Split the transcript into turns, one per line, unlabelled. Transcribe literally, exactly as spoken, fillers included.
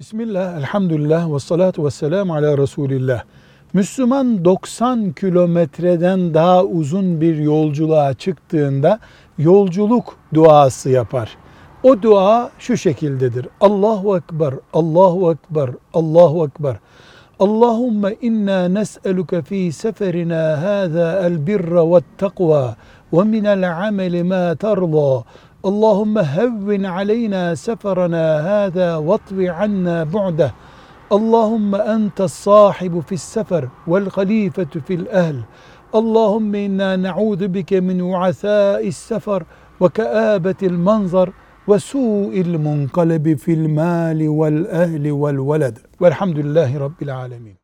Bismillah, elhamdülillah ve salatu ve selamu ala Resulillah. Müslüman doksan kilometreden daha uzun bir yolculuğa çıktığında yolculuk duası yapar. O dua şu şekildedir. Allahu Ekber, Allahu Ekber, Allahu Ekber. Allahümme inna nes'eluke fi seferina hâzâ el birra ve takva ve minel ameli ma terza. Allahümme hevvin aleyna seferana hâzâ vatvi anna bu'deh. Allahümme entes sahibu fis sefer vel halifetu fil ehl. Allahümme inna na'udhu bike min u'asâ'is sefer ve keâbetil manzar ve su'il munkalebi fil mâli vel ehli vel veled. Velhamdülillahi Rabbil alemin.